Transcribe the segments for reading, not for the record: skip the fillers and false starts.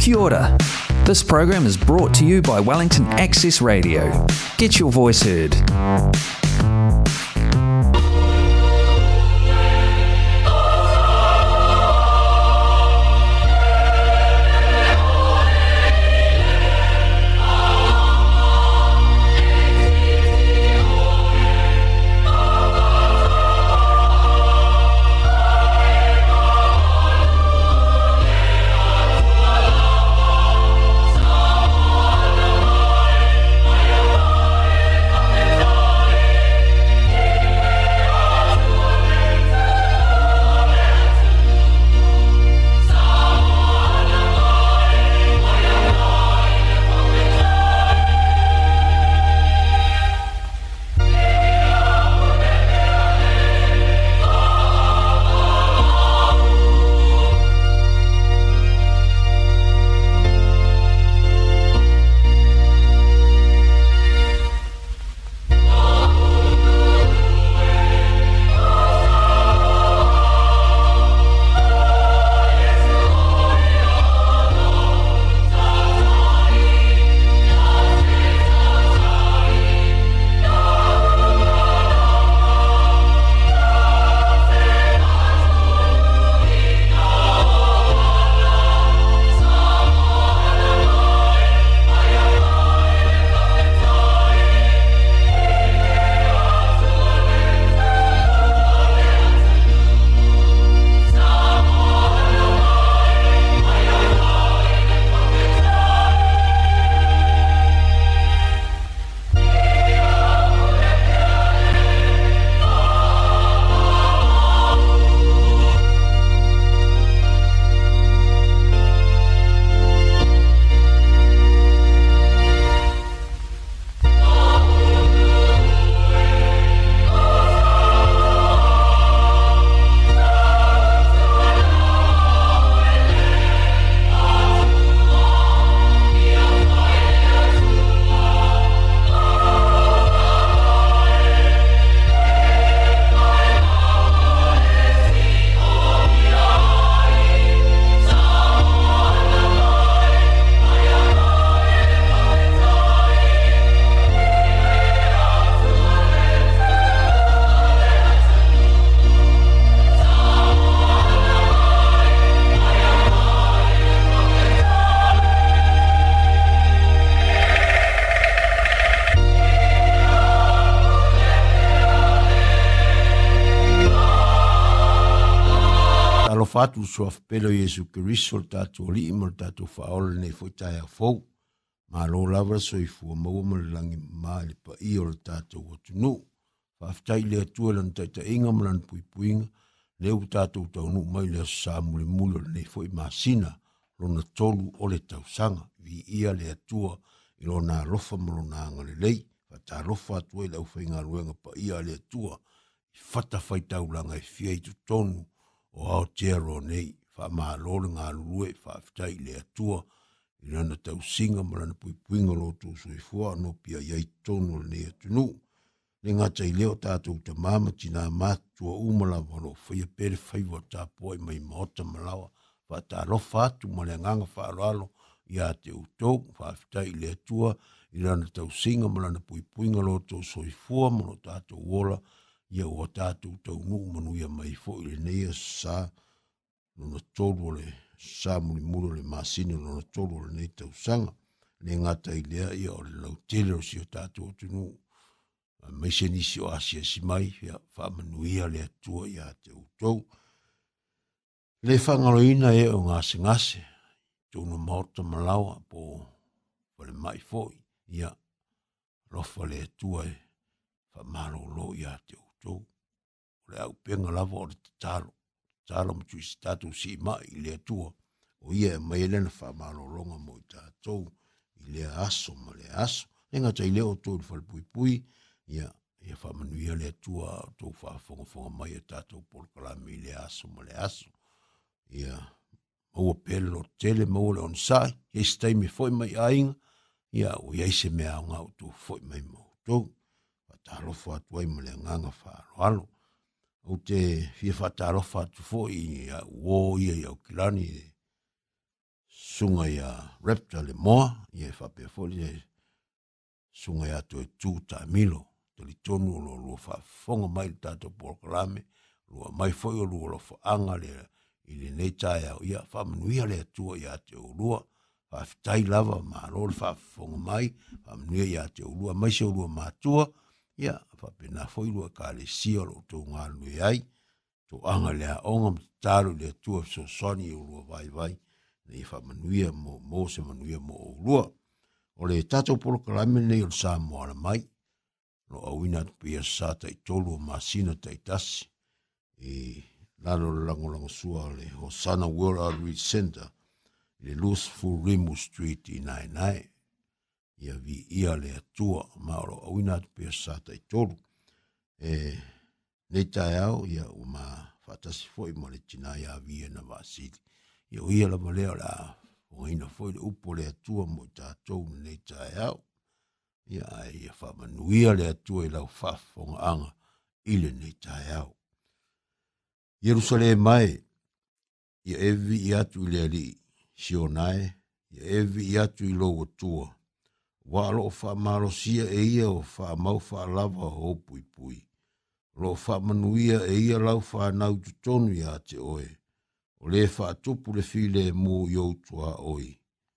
Kia ora. This program is brought to you by Wellington Access Radio. Get your voice heard. Fatu soaf pelo Yesu Kiriso tatu li mo tatu faol ne fotai fo ma lo lava so I fu mo mo langi mali pa I o tatu o tunu fa ftai le tu lan tata inga mlan pui puinga le u tatu tau nu mai le sa muli mulo ne foi masina lo na tolu o le tau sanga vi ia le tua I lo na lofa mo na ngale lei fa ta lofa tu le u finga luenga pa ia le tua fata fai tau langa fia I tu tonu o Aotearoa nei, wha maa lore ngā lulue, wha fitai le atua, I rana tau singa marana puipuinga lo tō sui fua, no pia iai tono le atunu. Le ngata I leo tātou ta mama tina mātua umala wano, whaia pere whaiwa tā poe mai maota malawa, wha tā lofa atu ma le nganga wha aralo, ia te utou, wha fitai le atua, I rana tau singa marana puipuinga lo tō sui fua, mano tātou wola, ia o tātou tau nuu manuia mai fo I le neia sa nuna tolu le sa muli mulu le masini nuna tolu le nei tau sanga le ngata I lea ia o le lau tele o si o tātou tunu mai se nisi o asia si mai ia wha manuia le atua ia te utou le whangaloina e o ngase ngase tūna maota malawa po wale mai fo ia rofa le atua e wha malo lo ia te utou le au penga lava o le talo mtu isi tatu si mai I le atua o ia mai elena wha malolonga mo I tātou I le aso ma le aso lenga tai leo tō le whalpui ia wha manuia le atua tō wha whonga mai a tātou polkalami I le aso ma le aso ia maua pelo tele maua le onsai e stai me foi mai ainga ia o ia se mea o ngau tō foi mai mo tō whatalofa atu ai ma le nganga whaaloalo o te fia whatalofa atu foi ia uo ia o kilani sunga ia Raptor le moa, ia whape foli e sunga ia to e tūta milo, te li tonu o lua whafonga mai le tātou polokalame, lua mai foi o lua lo whaanga le i le nei tae au ia whamanuia le atua ia te urua, whawhitai lava ma rol whafonga mai, whamanuia ia te urua, mai se urua mātua, ia whapena foi lua ka le sia lo tō ngā lui ai, tō anga lea onga mtaru le atua so soni urua vai, nei whamanuia mo se manuia mo urua. O le tātou polokalame nei o sa moana mai, no awina pia sa tai tolu o masina tai tasi, i lalo lango sua le Hosanna World Outreach Center, le Lusful Rimu Street i Nainai, ia vi ia le atua, ma o awina pia sa tai tolu, nei tae au, ia o ma whatasi foi mo le tina ia via na vasili, ia o ia la malea la, o ina foi le upo le atua mo tātou nei tae au, ia ai whamanuia le atua i lau whafonga anga ile nei tae au. Jerusalem mai, ia evi i atu i le ali, Sionai, ia evi i atu i lo atua, walo o whamalo sia e ia o whamau whalava ho pui pui, lo whamanuia e ia lau whanau tutonu i a te oe, o le whaatupu le file mu i outua oi.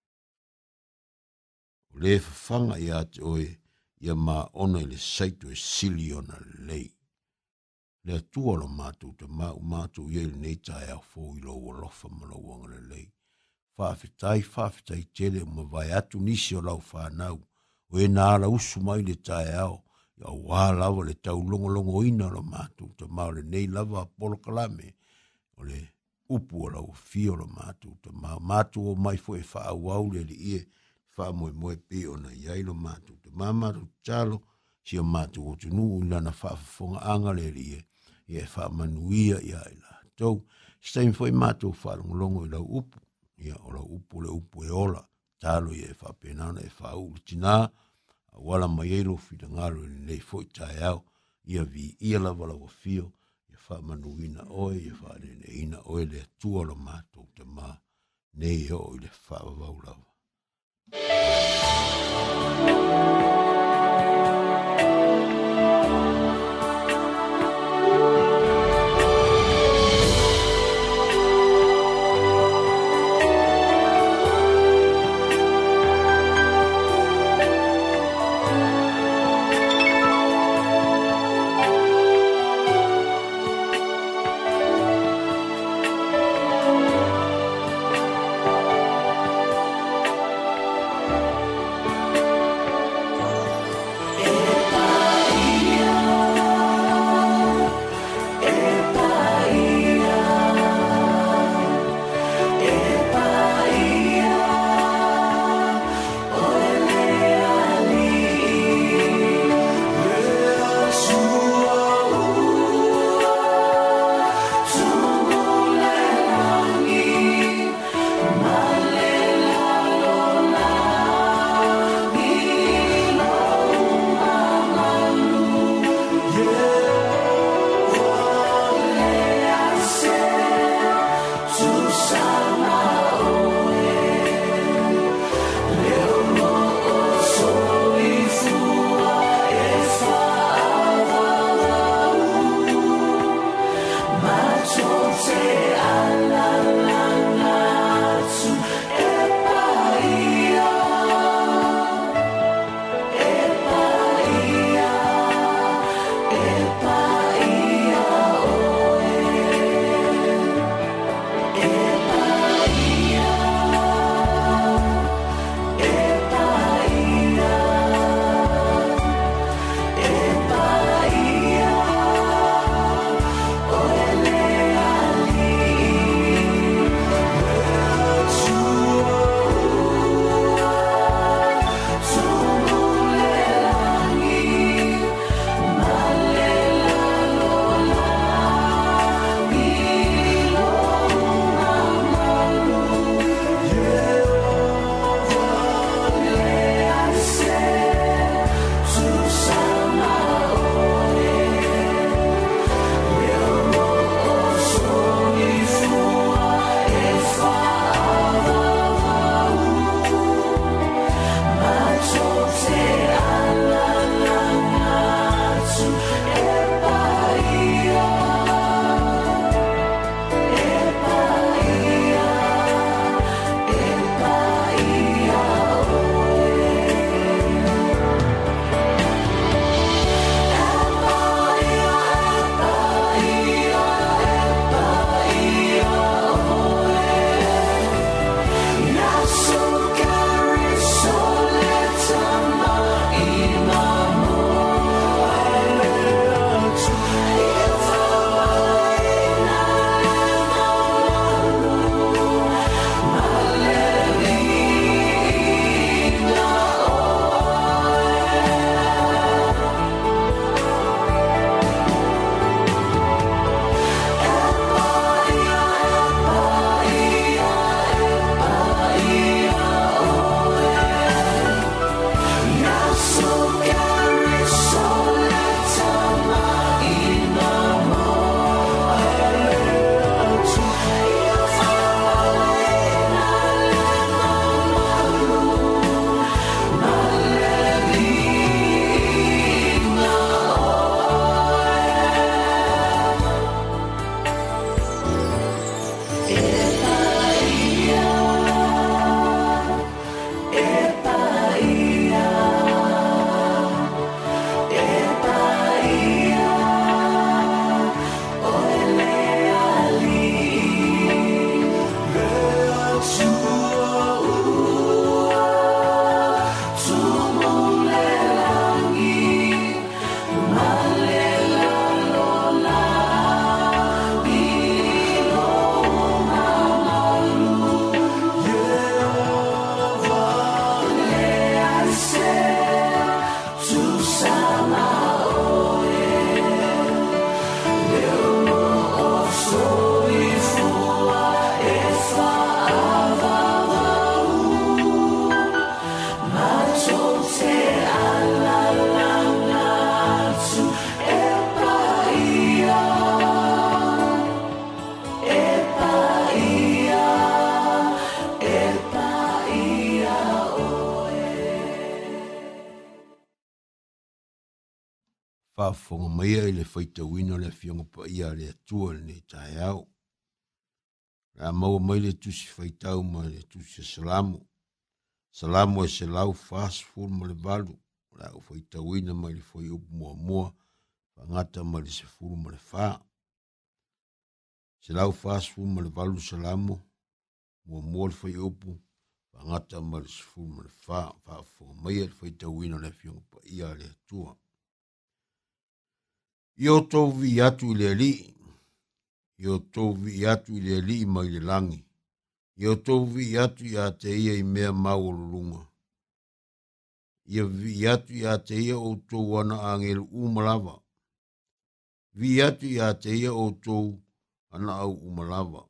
O le whanga i a te oe, ia ma ona i le saito e sili ona lei. Le atua lo mātou te mātou i le nei tae au fō i lo walofa malawanga le lei. Whawhitai tele ma vai atu nisi o lau whanau, o e nāra usu mai le tae au, ia wā lava le tau longo ina lo mātou te mau le nei lava polo kalame, o le upu o lau fio lo mātou te mātou o mai fo e whaau au le li ie, wha moe pe ona iai lo mātou te mātou talo, si o mātou o tunu nana whaafonga anga le li ie, ia wha manuia ia i la tau, stein fo e mātou whalongolongo i lau upu, ia o lau upu le upu e ola, talo ia e wha penana e wha ulu tina, wala mai elo fida ngalo i nei fo i tae au, ia vi ia la wala wa fio, ia wha manuina oe, ia wha nene ina oe le atua lo mātou te mā, nei o i le wha wau lawa. whaafonga maia i le whaitawina le fionga pa ia le atua le ne tae au. La maua mai le tusi whaitau ma le tusi salamu. Salamu e se lau fast food ma le valu. La u whaitawina mai le whai upu mua mua. Whangata ma le se furu ma le wha. Se lau fast food ma le valu salamu. Mua mua le whai upu. Whangata ma le se furu ma le wha. Whaafonga maia le whaitawina le fionga pa ia le atua. Io tau vi atu i le ali. Io tau vi atu i le ali mai le langi. Io tau vi atu i a te ia i mea mau o lulunga. Ia vi atu i a te ia o tau ana angelu umalava. Vi atu i a te ia o tau ana au umalava.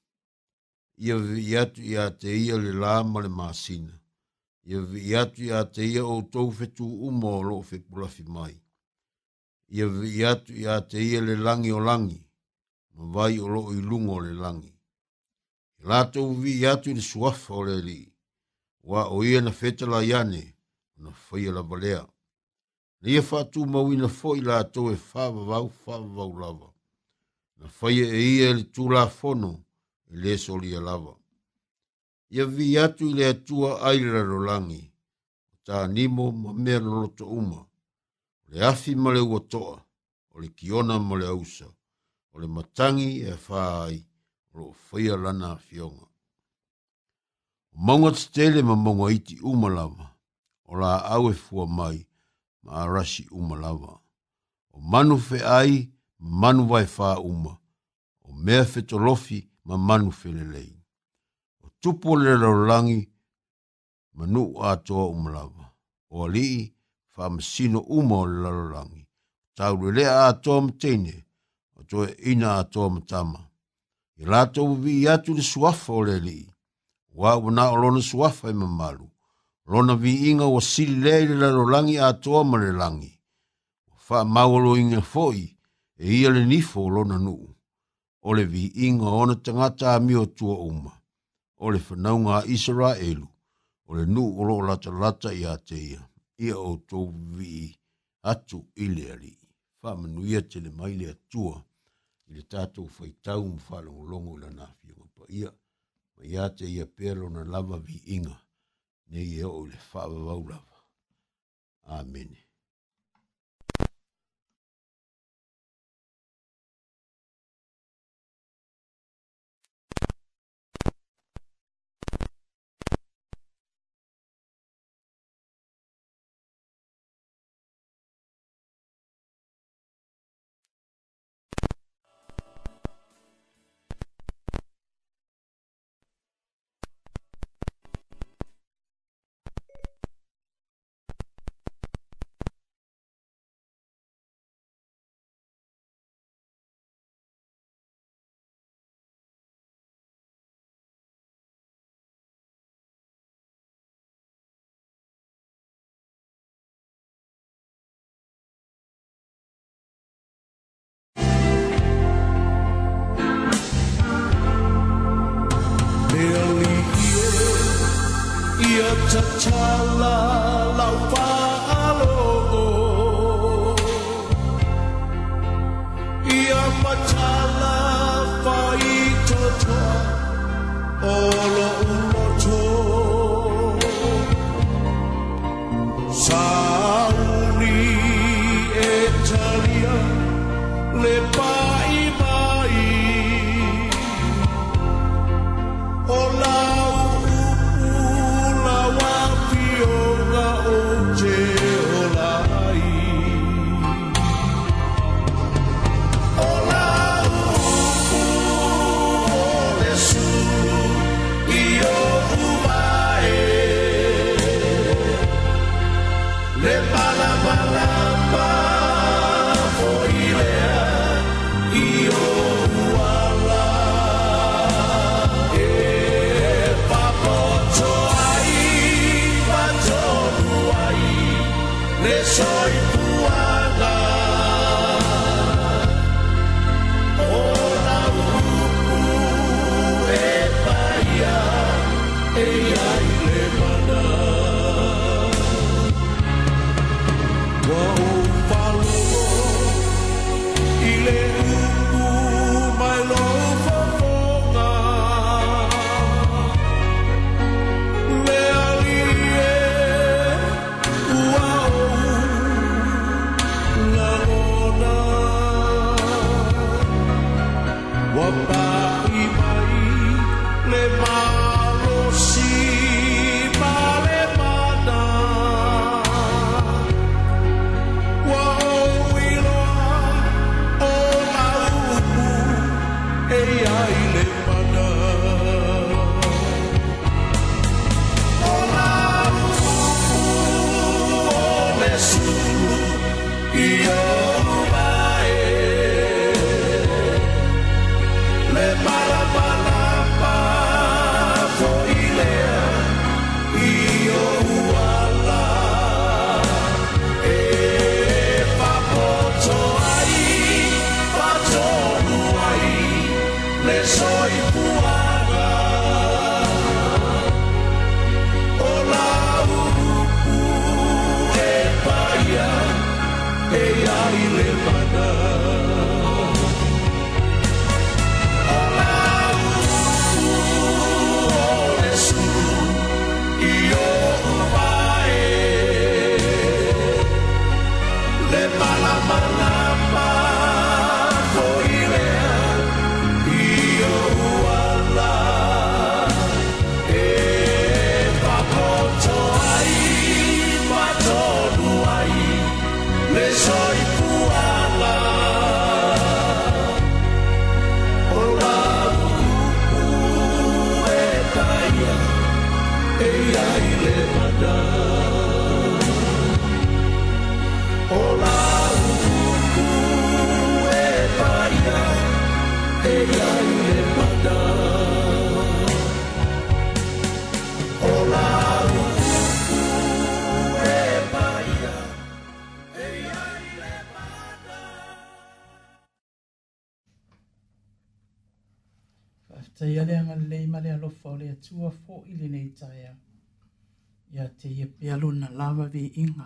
Ia vi atu i a te ia le lama le masina. Ia vi atu i a te ia o tau fetu uma o lo fe pulafi mai. Ia vi atu i a te ia le langi o langi. Ma vai o lo i lungo le langi. I lato vi atu i le suafa o le li. Wa o ia na feta la iane. Na whaia la balea. Na ia whatu mau ina fo i lato e whavavau lava. Na whaia e ia le tūla fono e le solia lava. Ia vi atu i le atua aira rolangi. Ta nimo ma mea loto uma. Le afi ma le uatoa, o le kiona ma le ausa, o le matangi e whaai, o lo whaia lana fionga. O maunga tele ma maunga iti umalava, o la au e fua mai, ma arasi umalava. O manu fe ai, ma manu vai wha uma, o mea fetolofi, ma manu fe lelei. O tupo le laulangi, ma nu atoa umalava, o alii, whaamasino uma o le lalolangi. Tau lea a toa mtene, o toe ina a toa mtama. I lato vi atu le suafa o le li. Wa wana o lona suafa i mamalu. Lona vi inga o sili lea i le lalolangi a toa ma le langi. Wha maualo inga foi, e ia le nifo o lona nuu. O le vi inga ona tangata a mio tua uma. O le whanaunga a Israelu. O le nuu o lo lata i a te ia. Ia o tau vi atu i le ali. Whamanuia te le mai le atua. I le tātou whaitau mwhalongolongo la nāwhia pa ia. Ma ia te ia pero na lava vi inga. Ne ia o le whaavavau lava. Amen. Chala lau fa'alo ia machala fa'ito toa olo uloto sauni etalia le pai mai ola le malo si male mana wa oiloa o la upu e ai le mana o la upu o le sulu i o Ia le ngalei ma le alofa o le atua fo i le nei taia. Ia te ia pia luna lava vi inga.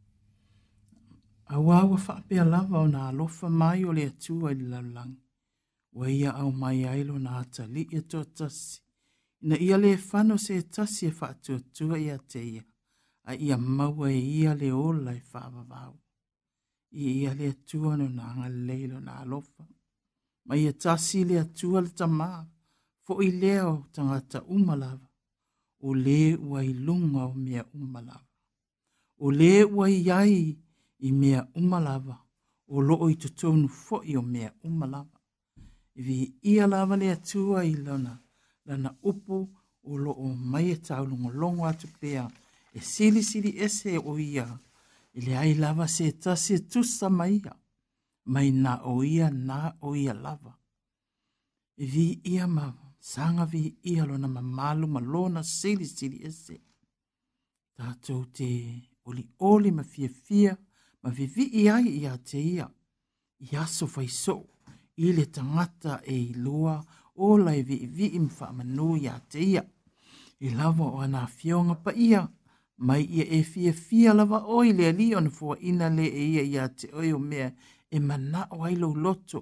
Awawa wha pia lava o na alofa mai o le atua i le laulangi. Wa ia au mai ailo na ata li e toa tasi. Ina ia le whano se tasi e wha atua ia te ia. A ia maua e ia le ola e wha avavau. Ia le atua no na ngalei lo na alofa. Ma ia tasi le atua le tamaa. Fo i leo tangata umalava, o le ua i lunga o mea umalava. O le ua i ai i mea umalava, o loo i tutonu fo i o mea umalava. Iwi ia lava le atua i lana upu o loo mai e taulungo longo atu pea, e sili ese o ia, i le ai lava se tasi e tusa maia, mai na o ia lava. Iwi ia mawa. Sanga vi ia lo na mamalu malona sili ese. Tātou te oli ma fia ma vivi ai ia te ia. Iaso faiso i le tangata e ilua o lai vi imwha manu ia te ia. I lava o ana fionga pa ia. Mai ia e fia lava o i le ali on fua ina le e ia te oi o mea e mana o ailo loto.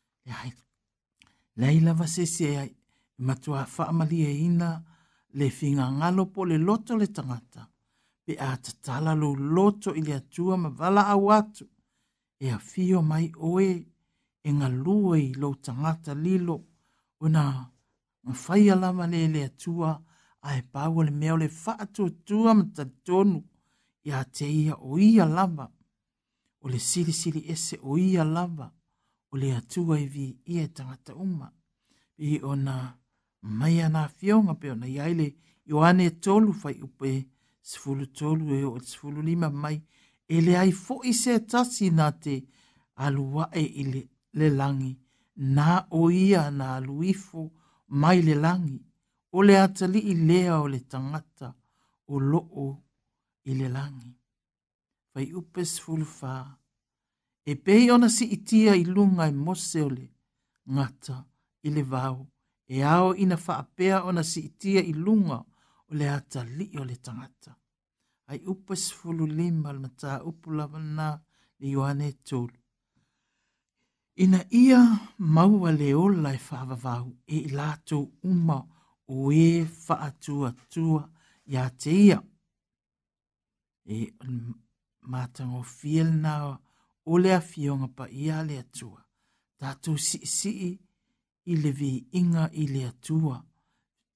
Lai lava sese ai. Matua whaamalia ina le whinga ngalo po le loto le tangata. Pe a tatala lo loto i le atua ma vala au atu. E a fio mai oe e ngā lua i lo tangata lilo. Una mwhaia lama le atua a e pāua le meo le whaatua ma tatonu. I a te ia o ia lava. O le siri ese o ia lava. O le atua i vi ia tangata uma. I ona mai ana fionga pe ona iaile Ioane tolu fai upe sifulu tolu e o sifulu lima mai e le ai fo i se tasi na te alua e ile le langi na o ia na aluifo mai le langi o le atali i lea o le tangata o loo i le langi. Fai upe sifulu fa e pei ona si itia i lunga i mose o le ngata i le vau. E ao ina whaapea ona si itia i lunga o le ata li o le tangata. Ai upa sifulu lima al mata upulawa na le Ioane tolu. Ina ia maua le ola e whaavavau e i lato uma o e whaatua ia te ia. E matango fiel na o le afionga pa ia le atua. Tātou si i le vi inga i le atua.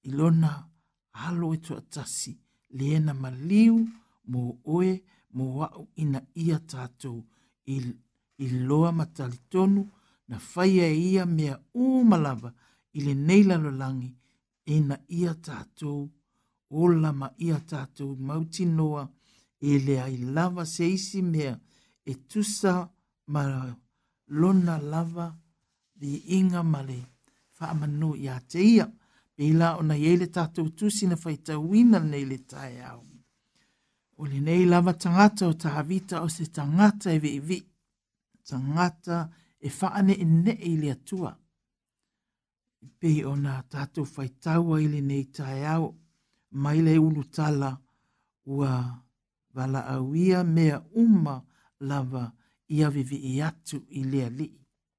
ilona alo e tuatasi leena maliu mo oe mo wau ina ia tātou i loa matalitonu na whaia ia mea umalava i le neila lolangi ina ia tātou ola ma ia tātou mauti noa e le ai lava se isi mea e tusa ma lona lava di inga male wha manu i a te ia pe la ona iele tātou tusi na whaitauina nei le tae au. O le nei lava tangata o tahavita o se tangata e vi tangata e whaane e ne i le atua. Pe ona tātou whaitaua i le nei tae au mai le ulu tala ua wala auia mea lava ia vivi i atu i lea li.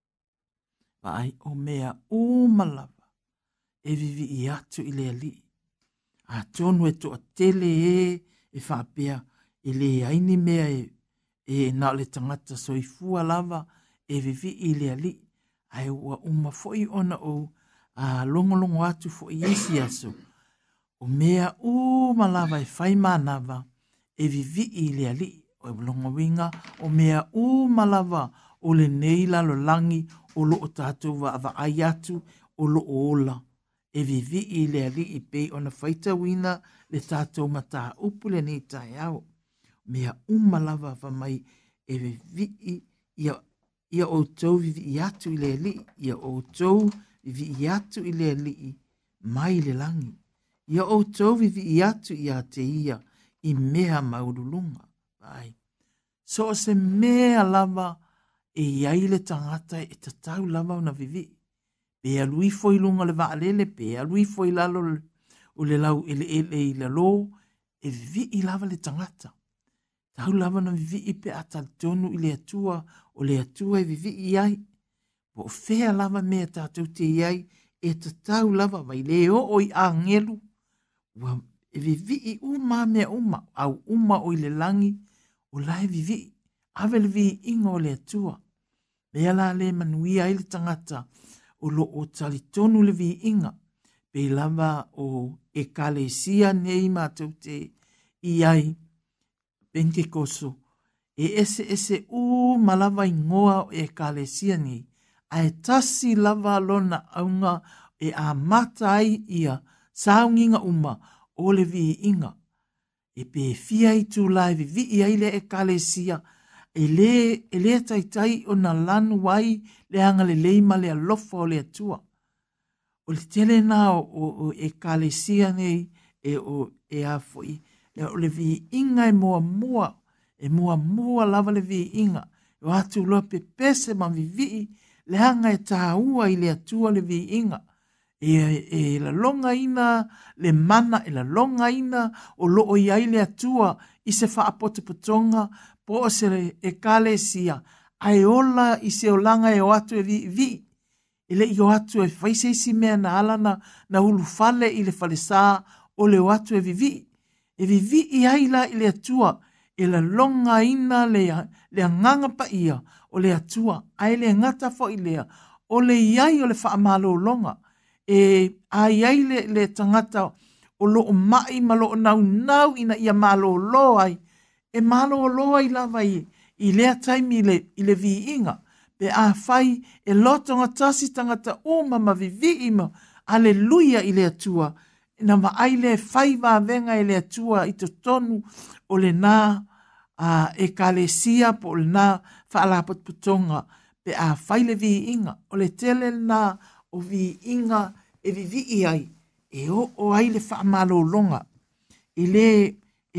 Vai o mea lava e vivi i atu i lea li. A tonu e toa tele e whapea e le aini mea e na le tangata soifua lava e vivi i lea li. Ai ua foi ona o a longolongo atu foi isi aso. O mea lava e whai manava e vivi i lea li. O longa winga o mea lava o le neila lo langi o lo o tātou wa ai atu o lo ola. E vivi i le ali i pei ona whaita wina le tātou mata upu le ni tai au. Mea lava wa mai e vivi ia o tau vivi i atu i le ali. Ia o tau vivi i atu i le ali mai le langi. Ia o tau vivi i atu i a te ia i mea maurulunga. Ai. So se mea lava e iai le tangata e tatau lava una vivi. Pe alui foi lunga le vaalele, pe alui foi lalo o le lau ele i le lo, e vivi i lava le tangata. Tau lava na vivi i pe atal tonu i le atua, o le atua e vivi i iai. Po fea lava mea tātou te iai, e tatau lava vai le o i a ngelu. E vivi i mea au o i le langi, o lai vivi, ave le vi inga o le atua. Mea la le manuia i le tangata, o lo o talitonu le vi inga, pe lava o e kalesia nei mātou te iai Pentekoso, e ese malava ingoa o e kalesia nei, a e tasi lava lona aunga e a mata ai ia saunginga o le vi inga. E pe fia i tu lai vi i le e kalesia, e le taitai o na lanu wai le anga le leima le alofa o le atua. O le tele na o e kalesia nei e a foi. O le vi inga e mua lava le vi inga. O atu loa pe pese ma vivi le anga e taua i le atua le vi inga. E la longa ina le mana e la longa ina o loo iai le atua i se whaapotopotonga po o se e kalesia ai ola i se olanga e o atu e vi ele i o atu e whaiseisi mea na alana na hulu fale i le falesa o le o atu e vivi i aila i le atua e la longa ina le anganga pa ia o le atua ai le ngata fo i lea o le iai o le whaamalo longa e ai le tangata o loo mai ma loo nau ina ia malo lo ai e malo lo ai lava i lea taimi i le vi inga pe a fai e loto ngatasi tangata ma vivi ima aleluia i le atua na ma ai le fai va venga i le atua i to tonu o le na e kalesia po le na whaalapot putonga pe a fai le vi inga o le tele na o vi inga e vivi i ai, e o ai le whaamalo longa, ele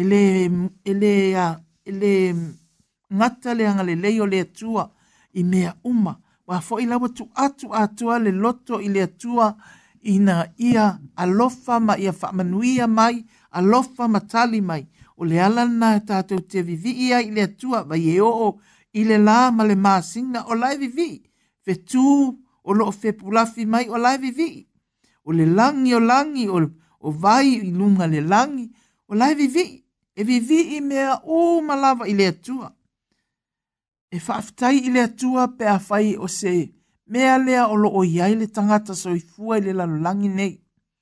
ngata le anga le leo le atua i mea wa fo i lawa tu atua le loto i le atua ina ia alofa ma ia whaamanuia mai, alofa matali mai, o le ala na tātou te vivi i ai le atua, vai e i le la ma le māsinga o lai vivi, fe tu o loo fe pulafi mai o lai vivi, o le langi o vai i lunga le langi o lai vivi e vivi i mea malava i le atua e whaafitai i le atua pe a whai o se mea lea o loo iai le tangata soifua i le lalolangi nei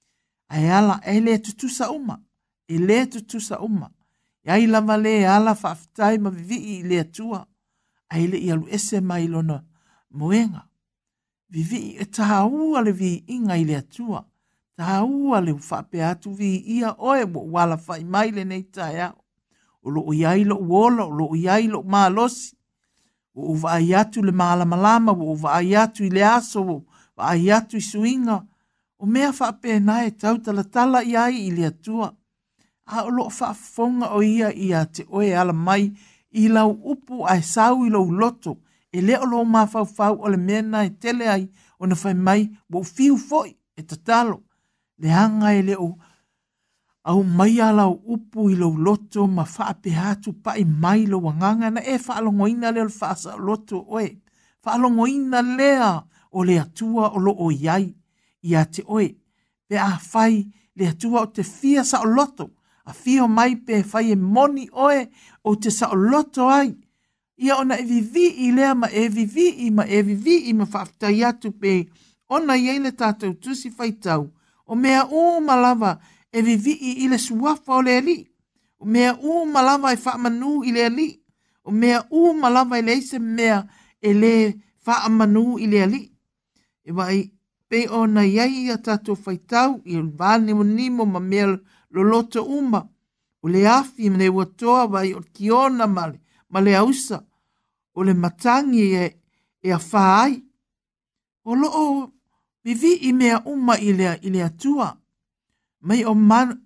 ai ala e le tutusa uma, e le tutusa uma. Iai lava le ala whaafitai ma vivi i le atua, ai le i alu ese mai lona moenga. Vivi e taha ua le vi inga i le atua, taha ua le whape atu vi ia oe mo wala whai mai le nei tae au. O lo o iai lo uola, o lo o iai lo maalosi, o vai atu le malama, o vai atu i le aso, o vai atu i suinga, o mea whape nae tau talatala iai i le atua. A o lo whaafonga o ia te oe ala mai, i lau upu ai sau i lau loto, e leo lo mawhau o le mena e tele ai o na whai mai wo fiu foi e tatalo. Le hanga e leo au mai ala o upu i lau loto ma whaape hatu pa i mai lo wanganga na e whaalongoina leo le whaasa loto oe. Whaalongoina lea o le atua o lo o iai i a te oe. Pe a whai le atua o te fia sa o loto. A fio mai pe whai e moni oe o te sa o loto ai. Ia ona e vivi i lea ma e vivi i ma whaafitai atu pe ona iei le tātou tusi whaitau. O mea malava e vivi i le suafa o le li. O mea malava e whaamanu i le li. O mea malava i le ise mea e le whaamanu i le li. E wai pe ona iei a tātou whaitau i le vāne mo nimo ma mea loloto uma. O le afi mne watoa wai o kiona male, ma le ausa. O le matangi e a whaai. O loo vivi i mea uma i le atua. Mai o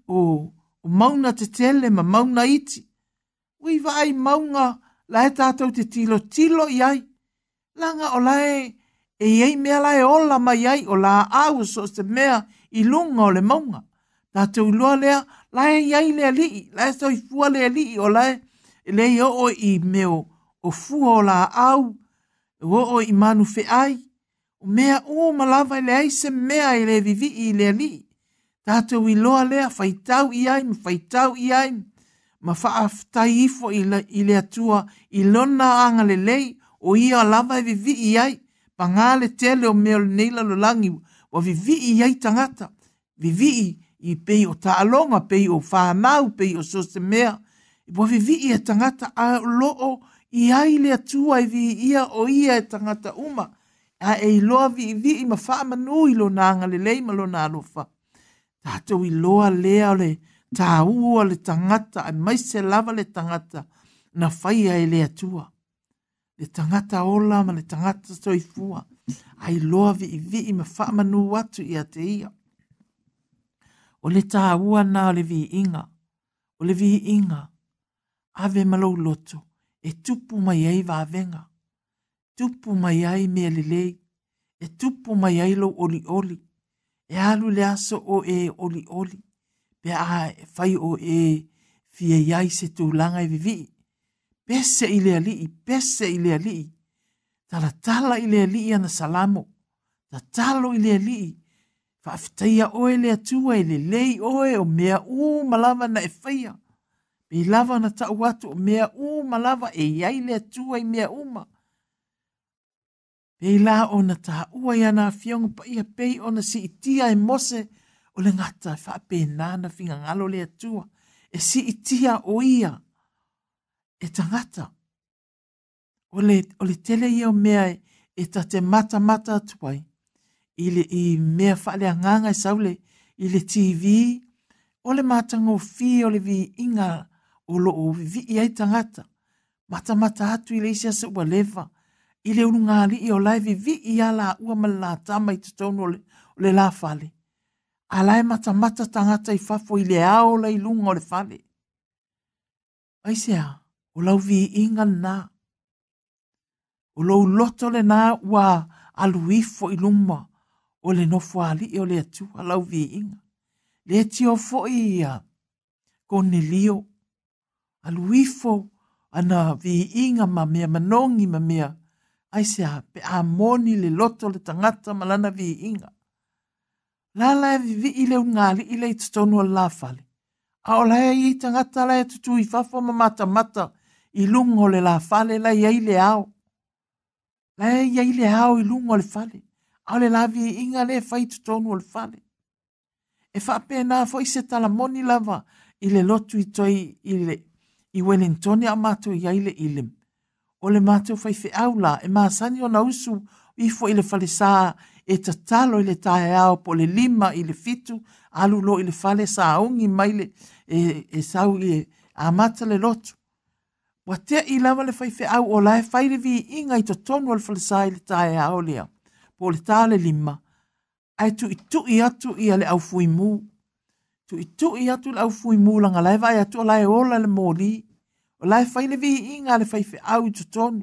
mauna te tele ma mauna iti. Ui vai maunga la e tātou te tilo iai. Langa o lae e iei mea lae ola mai iai o la au so se mea i lunga o le maunga. Tātou ilua lea lae iai lea lii. Lae so i fua lea lii o lae le i o i meo o fua o la au. O i manu fe ai. O mea malava i le aise mea i le vivi i le lii. Tātou i loa lea whaitau i ai, ma whaaftai ifo i le atua i lona anga le lei o ia lava e vivi i ai, pa ngā le tele o mea le neila lo langi, wa vivi i ai tangata, vivi i pei o taalonga, pei o whanau, pei o sose mea, wa vivi i e tangata a loo i ai le atua i vi ia o ia e tangata uma, a e loa vivi i ma whaamanu i lo nanga le lei ma lo na alofa. Tātou i loa lea o le tā ua le tangata, ai mai se lava le tangata na whaia e le atua. Le tangata ola ma le tangata soifua, ai loa vi i ma whaamanu atu i a te ia. O le tā ua na o le vi inga, ave malou loto, e tupu mai ai vāvenga, tupu mai ai mea lelei, e tupu mai ai lo oli. E alu le aso o e oli. Pe a fai o e fia iai se tūlanga i vivi. Pese i le alii. Tala i le alii ana salamo. Talo i le alii. Whaafitaia oe le atua i le lei oe o mea malava na e whaia. Pe lava na tau atu o mea malava e iai le atua i mea uma. Pei la o na taha ua ia na fionga pa ia pei o na si itia e mose o le ngata e whaape nana finga ngalo le atua. E si itia o ia e tangata. O le tele ia o mea e ta te mata atuai. I mea whaale anganga e saule i le TV. O le matanga o fi o le vi inga o lo o vi iai tangata. Mata atu i le isia se ua leva. I le unungali i o lai vivi i ala ua mala tama i tutonu o le la fale. A lai mata tangata i fafo i le ao la i lunga o le fale. Aisea, o lau vi inga na. O lau loto le na ua aluifo i luma o le nofo ali i o le atu a lau vi inga. Le tio fo i ia Cornelio. Aluifo ana vi inga ma mea manongi ma mea. Aisea, pe a moni le loto le tangata malana vi inga. Lala e vivi i le ungali i le i tutonu o la fale. A o lae i tangata la e tutu i fafo ma mata i lungo le la fale la i le ao. La i le ao i lungo le fale. A o le la vi inga le fai tutonu o le fale. E whaapena fo i se tala moni lava i le lotu i toi i Wellington a mātou i aile ilim. O le mātou whai au la e māsani o na usu i fo i le whale sā e tatalo i le tae ao po le 5 i le 7 alulo i le whale sā ungi maile e sau i a mata le lotu. Wa te i lava le whai au o la e whaile vi inga i to tonu o le whale sā i le tae ao lea po le tā le 5. Ai tu i atu i ale au fui mu. Tu i atu le au fui mu langa lai vai atu o lai ola le mōli. O lai whaile vi inga le whaife au i tutonu.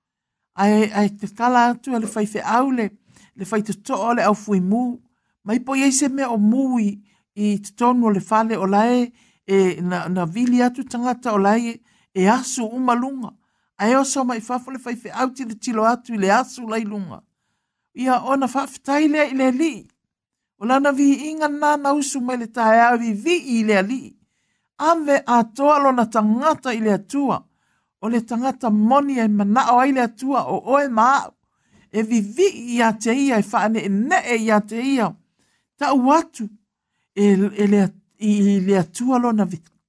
Ai te tala atu le whaife au le whai tuto le au fui mu. Mai po eise me o mui i tutonu o le whale o lai na vili atu tangata o lai e asu umalunga. Ai oso mai whafo le whaife au ti le tilo atu i le asu lai lunga. Ia ona whaftai lea i le li. O lana vi inga nana usu mai le tae au vi i le li. Ave a toa lo na tangata i le atua. O le tangata moni e manao ai le atua o oe maa. E vi i a te ia e whaane e ne e i a te ia. Ta uatu i le atua lo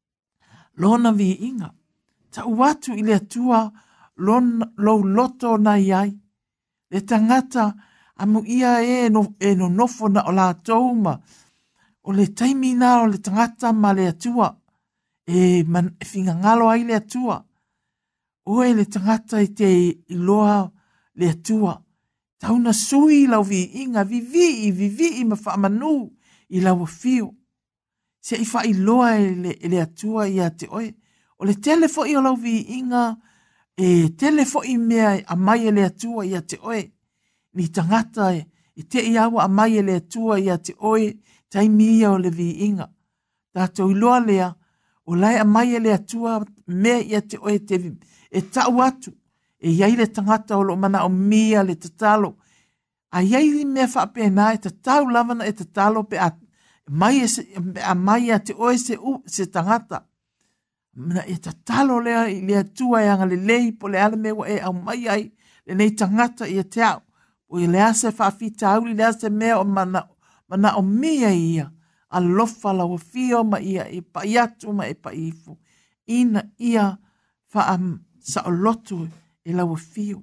na vi inga. Ta uatu i le atua lo loto na iai. Le tangata amu ia e no nofo na o la touma. O le taimina o le tangata ma le atua. E finga ngalo ai le atua. Oe le tangata i te iloa le atua. Tauna sui lau vi inga vivi ma whaamanu i lau fio. Se i wha iloa le atua i a te oe. O le telefo i o lau vi inga telefo i mea a mai le atua i a te oe. Ni tangata i te iawa a mai le atua i a te oe taimi ia o le vi inga. Tātou iloa lea o lai a mai le atua mea i a te oe te e tau atu. E iai le tangata o lo mana o mia le tatalo. A iai li mea whaapena e tatau lavana e tatalo pe a mai a te oe se tangata. Mana e tatalo lea i le atua e anga le lei po le ale mewa e au mai ai le nei tangata i a te au. O i le ase whaafita au li le ase mea o mana o mia ia. A lofa la wafio ma ia e pa iatu ma e pa ifu. Ina ia sa o lotu e la wafio.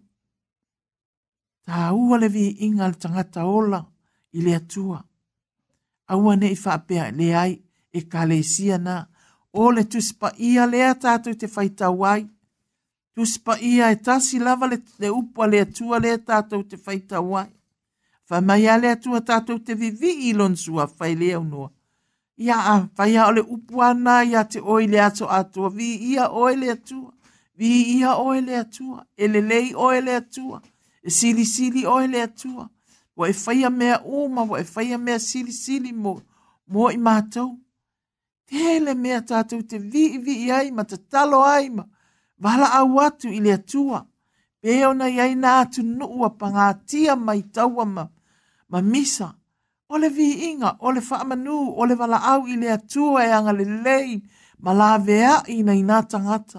Ta ua le vi inga le tangata ola i le atua. Aua ne i whaapea le ai e ka le sia na. O le tuspa ia lea tātou te whaitau ai. Tuspa ia e tasi lava le upua le atua lea tātou te whaitau ai. Whamai le atua tātou te vivi i lonsua whai lea unua. Ia a whaia o le upua na ia te oi le ato atua. Vi ia oi le atua. Vi ia oi le atua. E le lei oi le atua. E sili oi le atua. Wa e whaia mea uma, wa e whaia mea sili mo i mātou. Tele mea tātou te vi ai ma te talo ai ma. Wala au atu i le atua. Peo na iai na atu nuua pangatia mai taua ma misa. O le vi inga, o le whaamanu, o le wala au i le atua e anga le lei ma la vea i na ina tangata.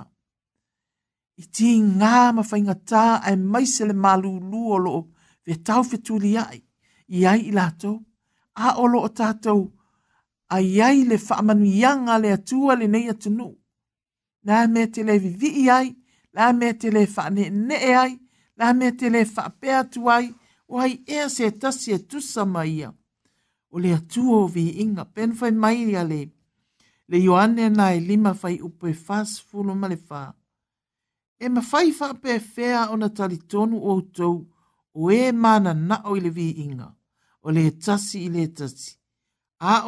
I ti ngā ma whaingatā ai maise le malulu o loo ve tau whetuli ai. I ai i lato. A o loo tātou. Ai ai le whaamanu ianga le atua le nei atunu. Nā mea te le vivi ai, nā mea te le whaane ne ai, nā mea te le whaapea tu ai, o ai ea se tasi e tusa mai ia. O le atua o vi inga, pen whai mai ia le Ioane na e 5 whai upe fas fulu ma le wha. E ma whai whaapea whea o na talitonu o tau, o e mana na o i le vi inga, o le tasi i le tasi. A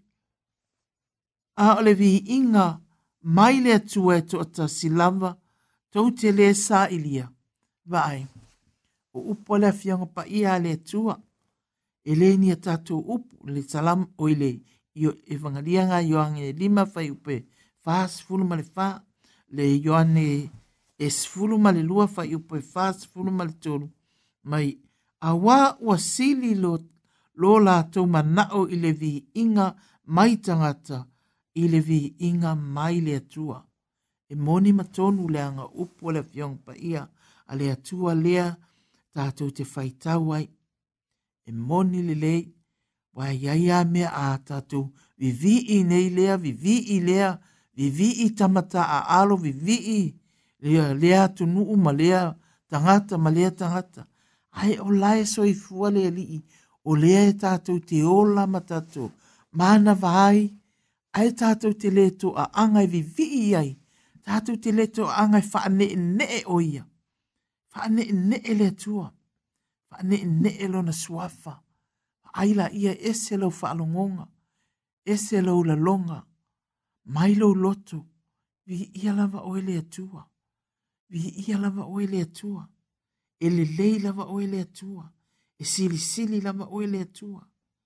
o le vi inga, mai le atua e toata si lava, tau te le sa ilia. Vai, o upo le afionga pa ia le atua. E le ni a tātou upu, le salam o ile, io evangelianga Ioane 5 whai upe, fas fulu ma le wha, le Ioane es fulu ma le lua whai upe, fas fulu ma le tolu. Mai, awa ua sili lo la tau manao i le vi inga mai tangata, i le vi inga mai le atua. E moni matonu le anga upu le fiong pa ia a le atua lea tātou te whaitau ai. E moni le lei Wa ia mea a tātou vivi nei lea, vivi lea, vivi tamata a alo, vivi lea tunuu ma lea tangata ma lea tangata. Ai o lae soifua lea lii, o lea e tātou te ola ma tātou. Mana vai, ai tātou te leto a angai vivi ai, tātou te leto a angai whaane o ia. Whaane lea tua, whaane lona suafa. Aila ia ese lau whaalongonga, ese lau la longa, mai lau loto, vi ia lava oele atua, vi ia lava oele atua, ele lei lava oele atua, e sili lava oele atua.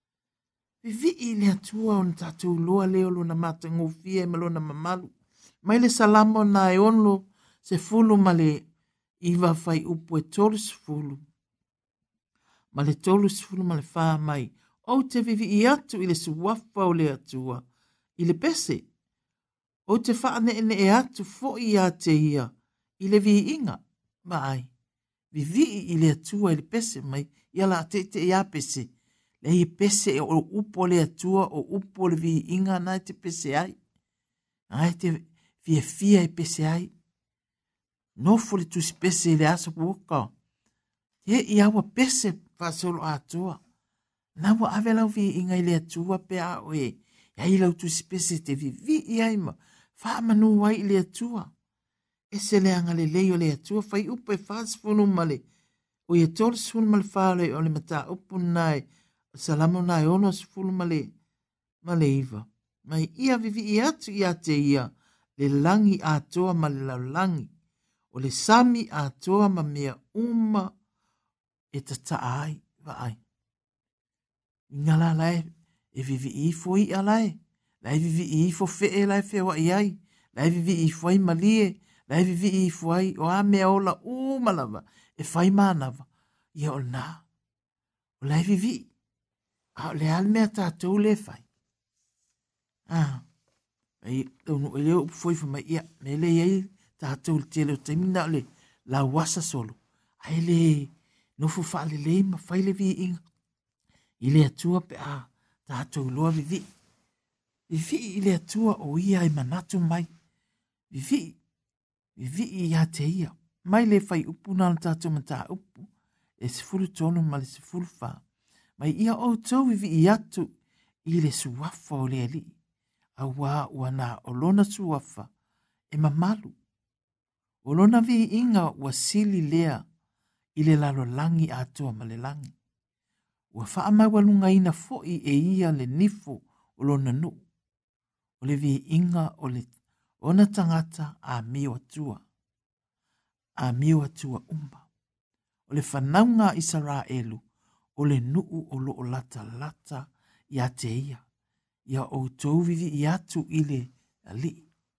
Vi ile atua on tātou loa leo lo na matangofia e malona mamalu, mai le salamo na e onlo se fulu male iwa fai upu e tolu se fulu. Ma le tolu sifulu ma le wha mai, o te vivi I atu I le suwafa o le atua, I le pese. O te wha ne e atu fo I a te ia, I le vi inga, mai. Vivi I le atua I le pese mai, ia la te ia pese. Le I pese o upo le atua, o upo le vi inga na te pese ai. Ai te fia I pese ai. Nofo le tusi pese le asa puoka. He I awa pese fasolo atua. Na wa ave lau vi inga ile atua pe a oe. Ya I lau tu spese te vivi I aima. Fa manu wai ile atua. Ese le anga le leo le atua. Fai upe fas funu male. O ye tol sfunu male fale o le mata upu nai. Salamu nai ono sfunu male. Male iwa. Mai ia vivi I atu I ate ia. Le langi atoa ma le lau langi. O le sami atoa ma mea uma. E tata ai, wa ai. Ngala lai, e vivi I fo I alai. Lai vivi I fo fe lai fe wa I ai. Lai vivi I fo I malie. Lai vivi I fo ai, o a mea ola o malava. E fai manava. Ia o na. O lai vivi. A le al mea tātou le fai. Ai, tonu e leo foi fa mai ia. Me le iei tātou le tele o taimina le. La wasa solo. Ai le... No fu fale le ma fai le vi inga. I le atua pe a tātou loa vivi. Vivi I le atua o ia I manatu mai. Vivi I a te ia. Mai le fai upu na tātou mata upu. E se fulu tonu ma le se fulu wha. Mai ia o tau vivi I atu I le suwafa o le ali. A wā ua nā o lona suwafa. E mamalu. O lona vi inga ua sili lea. I le lalo langi atua ma le langi. Ua wha amai walunga ina foi e ia le nifo o lona nu. O le vi inga o le ona tangata a mio atua. A mio atua umba. O le whanaunga Israelu o le nuu o lo o lata lata I a te ia. Ia o tau vivi I atu I le ali.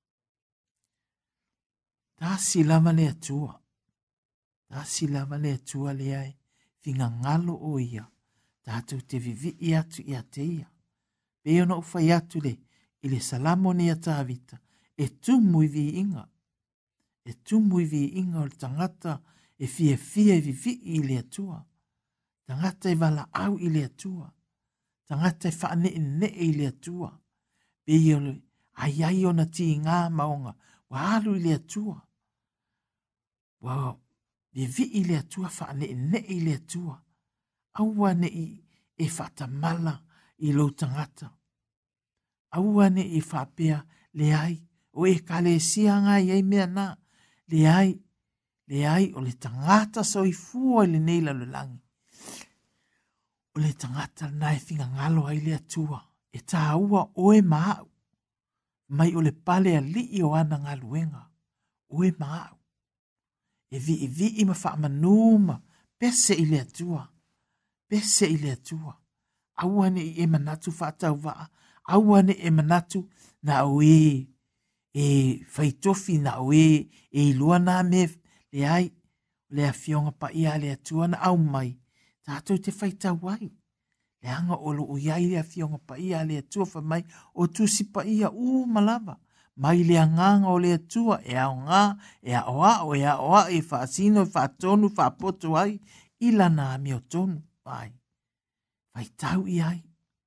Tasi lama le atua. Tasi lava le atua le ai, finga ngalo o ia, tātou te vivi I atu I a te ia. Peo na uwhai atu le, I le salamo ne a tāvita, e tumu I vi inga. E tumu I vi inga o le tangata, e fia I vivi I le atua. Tangata I wala au I le atua. Tangata I whaane I le atua. Peo le, ai o na ti ngā maonga, wa alu I le atua. Wow. Vivi I le atua whaane I le atua. Aua ne I whatamala I lo tangata. Aua ne I whapea le ai. O e kale sianga I mea na. Le ai o le tangata so I fua I le neila lo langi. O le tangata nai finga ngalo ai le atua. E tā ua oe maau. Mai o le pale a li o ana ngaluenga. Oe maau. E vi I ma wha manuma, pese I le atua, pese I le atua. Awane I e manatu whaatau waa, awane e manatu na o e whaitofi na o e lua na me le ai, le a fionga pa ia le atua na au mai, tātou te whaitau ai. Le anga olo o iai le a fionga pa ia le atua wha mai, o tusi pa ia malava. Mai le anganga o le atua e ao ngā, e ao a e whaasino, e whaatonu, whaapoto ai, ila nā meo tonu, pai. Vai tau I ai,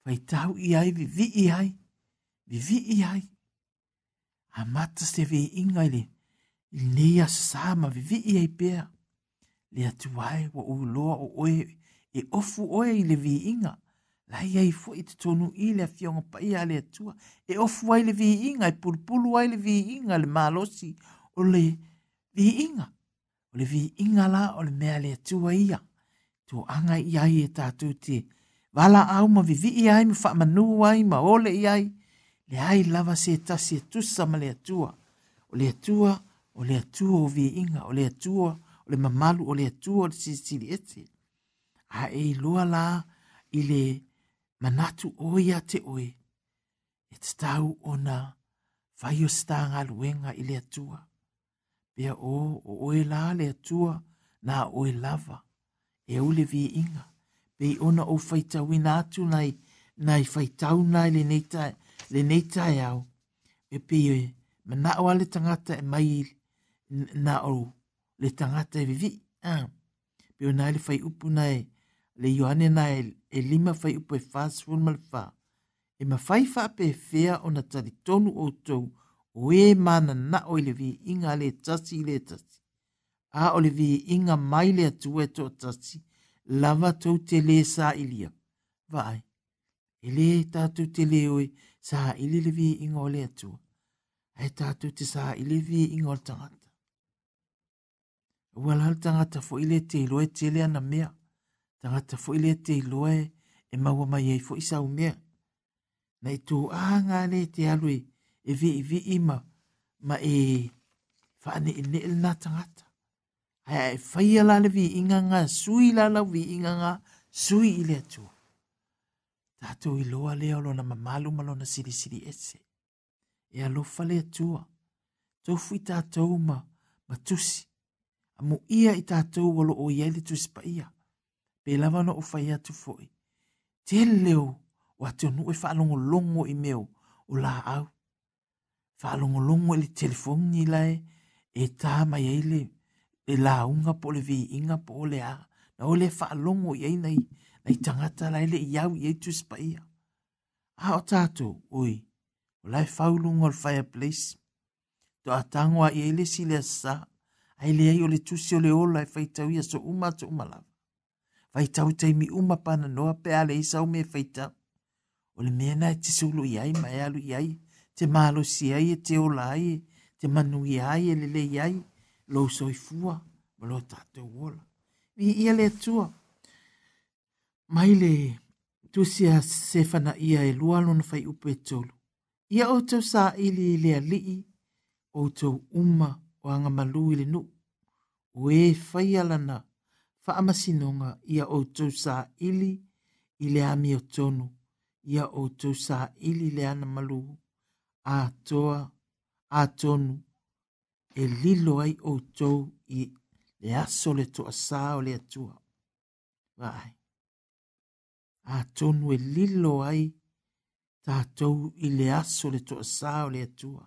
Faitau i ai vivi ai. A mata se vi inga ile. Ilea sasama vivi ai pea. Le atuai wa uloa o oe e ofu oe ile vi inga. Lai ai fo i te tonu i le fionga pa ia le atua. E ofu ai le vi inga, e pulpulu ai le vi inga, le malosi o le vi inga. O le vi inga la o le mea le atua ia. To anga i ai e tātou te wala au ma vivi i ai, ma wha manu ai, ma ole i ai. Le ai lava se tasi e tusa ma le atua. O le atua o vi inga, o le atua, o le mamalu, o le atua, o le sisiri ete. A e loa la i le manatu oia te oe. E te tau o na whai o stanga luenga i le atua. Pea o oe la le atua na oe lava. E ule vi inga. Pei ona o whaitau ina atu nai whaitau nai le neitai au. E pei oe mana o ale tangata e mai na o le tangata e vivi. Peo nai le whai upu nai le Ioane nai e lima whai upu e fast food mal wha. E ma whai wha pe fea o na tari tonu o tau o e mana na o le vi inga le tasi le tasi. A o le vi inga mai le atu e to tasi. Lava tau te le sa ilia. Vai. E le tātou te le oe sa ili le vi inga o le atu. E tātou te sa ili vi inga o le tangata. Ua lal tangata fo ile te iloe te le ana mea. Tangata fo ile te iloe e maua mai ei fo isa u mea. Na i tō anga le te alue e vi ima ma e whaane e ne na tangata. Ai e whaia la le vi inga ngā sui la lau vi inga ngā sui ile atu. Tātou i loa leo lo na mamalu malo na siri ese. E alofa le atua. Tau fui tātou ma tusi. Amo ia i tātou walo o iele tusi pa ia. Pe lava no o whai atu foi. Te leo o atu nu e whaalongo longo i meo o la au. Whaalongo longo i le telefoni lai e tā mai eile e la unga po le vi inga po le a. Na o le whaalongo i nei tangata lai le iau i eitu spa ia. A o tātou, oi, o lai whaulunga o le fireplace. To a tangoa i eile si le asa, ai le ai o le tusi o le ola e whaitau ia so uma lava. Whaitau teimi uma pana noa pe ale isa o me whaitau. O le mena e te sulu i ai, mai alu i ai, te malo si ai, te ola ai, te manu i ai, e le i ai, lo soifua, ma lo tātou ola. Vi ia le atua. Mai le tusia sefana ia e lualo na whai upe tolu. Ia o tau sa ili le alii, o tau uma o anga malu ili nu. O e whai alana, whaamasinonga ia o tau sa ili i le ami o tonu. Ia o tau sa ili le ana malu. A toa, a tonu, e lilo ai o tau i le aso le toa sa o le atua. Vai. A tonu e lilo ai tātou i le aso le toa sa o le atua.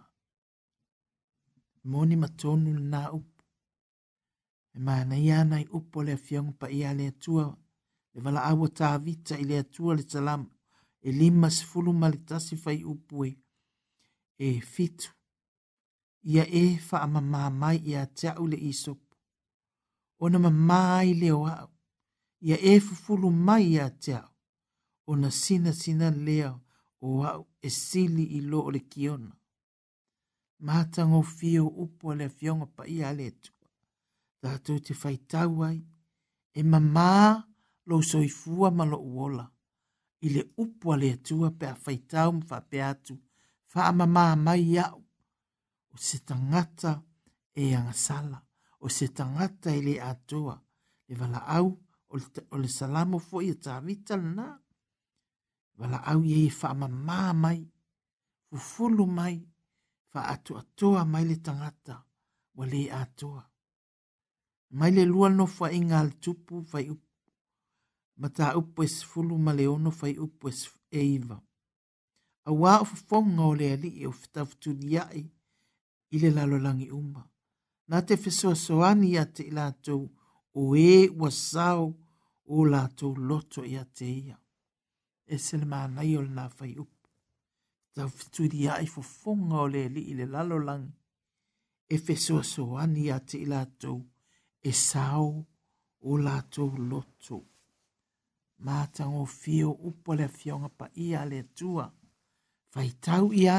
Moni ma tonu na upu. E mana ia nai upo le afionga pa ia le atua. Le vala awa tā vita i le atua le talama. E lima sifulu malitasi fai upu e fitu. Ia e wha ama mai ia teau le isopu. Ona mamai le o au. Ia e fufulu mai ia teau. Ona sina lea o au e sili i lo o le kiona. Mātango fio upo le fionga pa ia le tua. Tātou te whaitau ai. E mamā lo soifua ma lo uola. I le upo le tua pe a whaitau mwha pe atu. Wha mamā mai au. O se tangata e angasala. O se tangata e le atua. Le vala au o le salamo fo i a tāvita na. Wala au ye wha mamā mai, fufulu mai, wha atoa mai le tangata, wa le atoa. Mai le lua no wha inga al tupu whai upu. Mata upu es fulu ma le ono whai upu es eiva. A wā o whafonga o le ali e o whitawhitu liai i le lalolangi uma. Nā te whesoa soani a te ilatou o e wasau o lātou loto i a te ia. e se le mānai o le nā whai upu. Tau whituri ai fofonga o le li i le lalo langi. E fesoa soani a te i lātou e sao o lātou loto. Mātango fio upo le fionga pa ia le tua. Whaitau i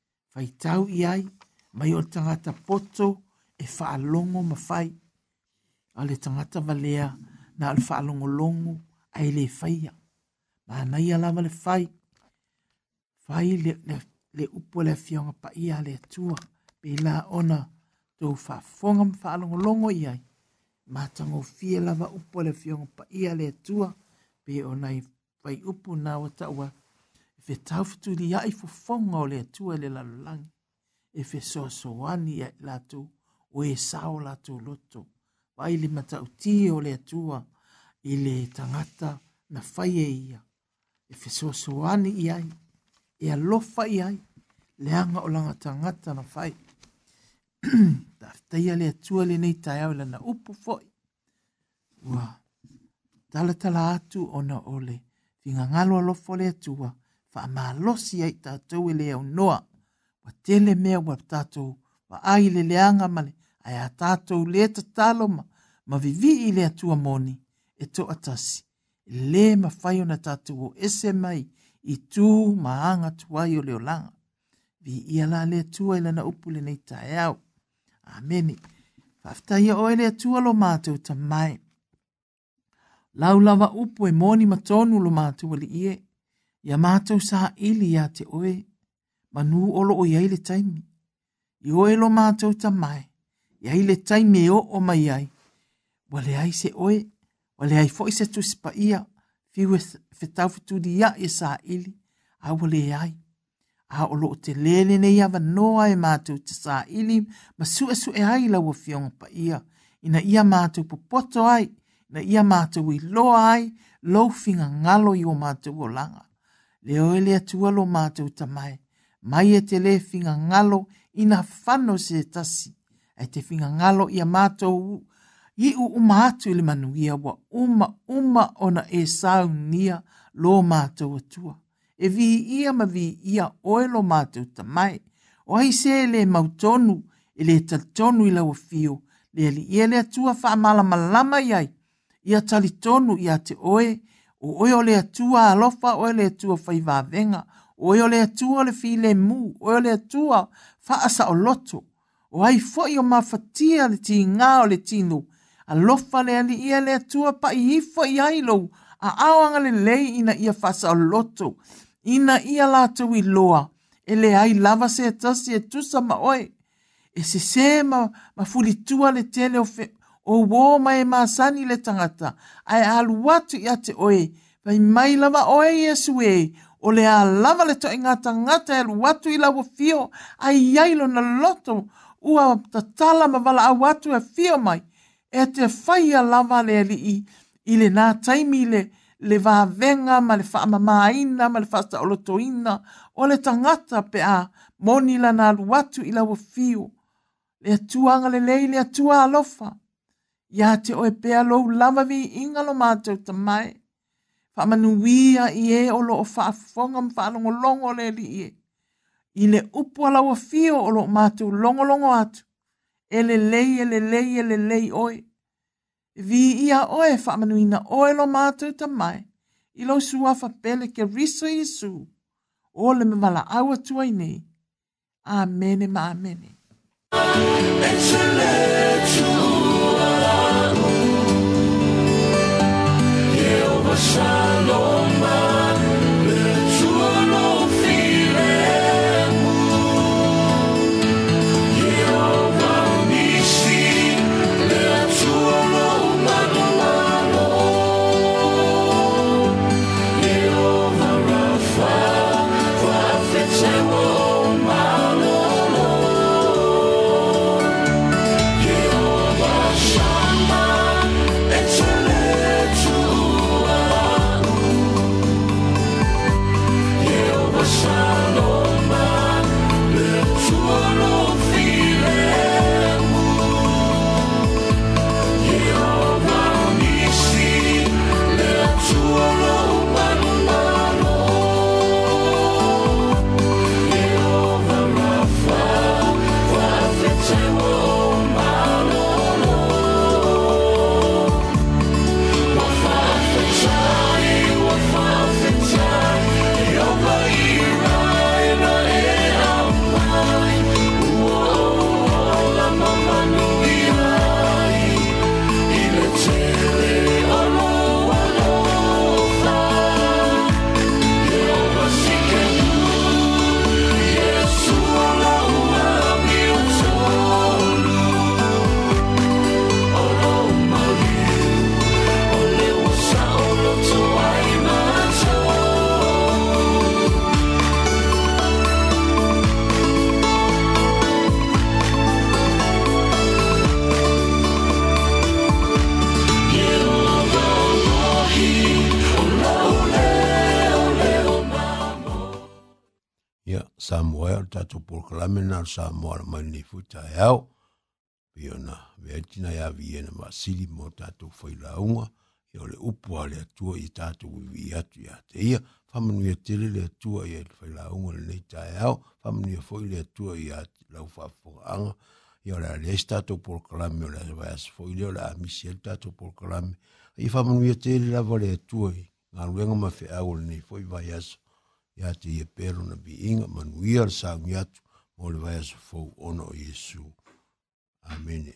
ai, mai o tangata poto e whaalongo mawhai. A le tangata valea na al whaalongo longo ai le whaia. Mānai alawa le whai. Whai le upo le fionga pa ia le tua. Pe la ona tō whaafonga whaalongo longo i ai. Mātango fia lava upo le fionga pa ia le tua. Pe o nei whai upu nā wata ua. E tau whuturi ai fofonga o le tua le lalangi. E so soani ai lātou o e sao lātou loto. Wai le mata uti o le tua i le tangata na whai e ia. E so soani i ai. E alofa i ai. Le anga o langa tangata na whai. Taftaia le tua le nei tai au lana upu foi. Ua. Tala atu ona ole. Finga ngalo alofo le tua. Wha malosi ai tātou e le au noa. Wa tele mea wa tātou. Wa ai le leanga male. Ai a tātou le tatalo ma vivi i le atua moni. E to atasi. Le ma whai ona tātou o ese mai. I tū maanga tuai o leo langa. Vi ia la le atua i lana upu le nei tae au. Ameni. Whaftaia oe le atua lo mātou ta mai. Laulawa upu e moni matonu lo mātou ali ie. Ia mātou sa ili ia te oe. Manu olo o iai le taimi. I oe lo mātou ta mai. Iai le taimi e o mai ai. Wale ai se oe. Wale ai fo i se tu sipa ia. Fiu e fetau fitudi ia i sa ili. A wale ai. A olo o te lele ne ia vanoa e mātou te sa ili. Ma su e ai la wa fionga pa ia. Ina ia mātou popoto ai. Na ia mātou i loa ai. Lau finga ngalo i o mātou o langa. Leo ele atua lo mātou tamai. Mai e te le finga ngalo ina whano se tasi. E te finga ngalo ia mātou i umatu i le manuia wa uma ona e sau nia lo mātou atua. E vi ia ma vi ia oe lo mātou tamai. O ai se le mautonu e le taltonu i lau fio. Le ali ia le atua wha malama iai. Ia talitonu ia te oe. O oe o le atua alofa, oe le atua whaivavenga, oe o le atua le file mu, oe o le atua whaasa o loto. O ai foi o mawhatia le ti ngā o le tino, alofa le ali ia le atua pa i hifo i ailo, a awanga le lei ina ia whaasa o loto, ina ia lātou i loa, e le ai lava se atasi e tusa ma oe, e se ma fulitua le tele o wō mai māsani le tangata, ai alu watu i ate oe, vai mai lava oe Yesu e, o le a lava le toi ngā tangata alu watu i lawa fio, ai yailo na loto, ua tatala ma wala a watu e fio mai, e te whaia lava le ali i le nā taimi le vāvenga, ma le wha mamaina, ma le whasta o lotoina, o le tangata pe a moni la nā alu watu i lawa fio, le atuanga le lei, le atua alofa, ia te oe pea lou lava vi inga lo mātou tamai. Whamanuia i e o lo o whaafonga mwhaalongo longo le li i e. I le upu alaua fio o lo mātou longo atu. E le lei oe. Vi ia oe whamanuina oe lo mātou tamai. I lo suafa pele ke riso Yesu. O le me wala aua tuai nei. Amene ma amene. Shalom, le tuo lo filemu, Jehovah Nissi, le tuo lo malo, Jehovah Rapha, profetero malo, Jehovah Shammah, excellent. Samoa o tatou proklame na Samoa la mai nei futa eau. Piona, veatina ya viena masili mo tatou whailaunga, i o le upua le atua i tatou iwi atu ya te ia, whamanu ia tele le atua i le whailaunga le nei tae au, whamanu ia foi le atua i ati lau whafongaanga, i o le ales tatou proklame o le avayas foi le o le amisi el tatou proklame, i whamanu ia tele lava le atua i ngā ruenga mawhi au le nei foi vayaso, i ati ia pero na bi inga manuia le saungi atu, mo le vayaso fau ono o Yesu. Amen.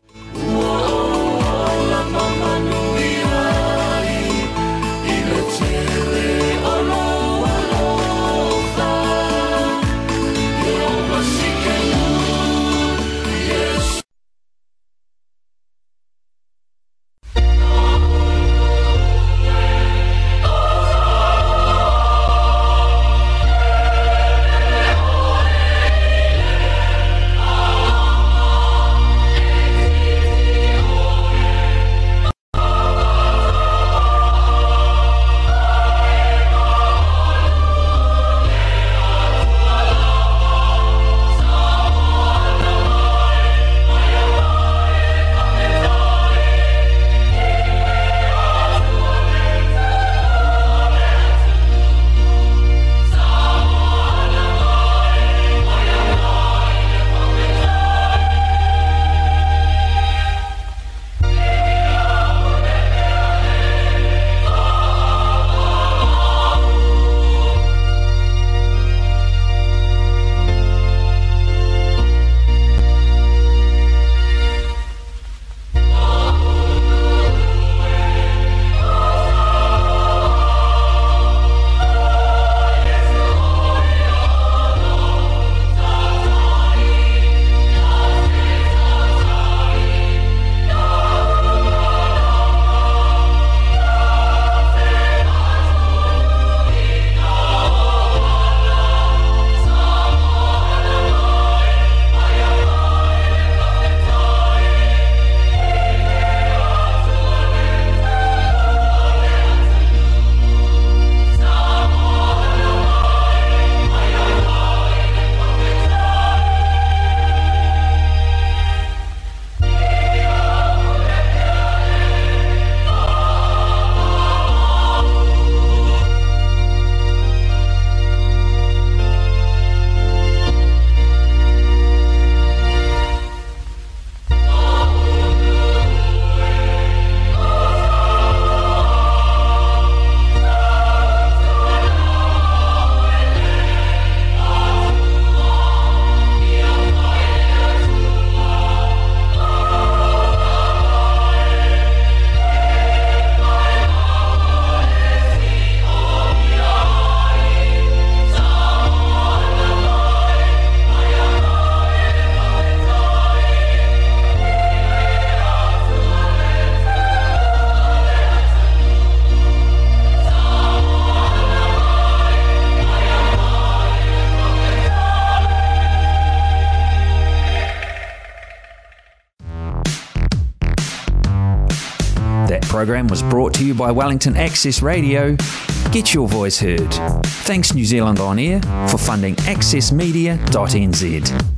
program was brought to you by Wellington Access Radio. Get your voice heard. Thanks New Zealand On Air for funding accessmedia.nz.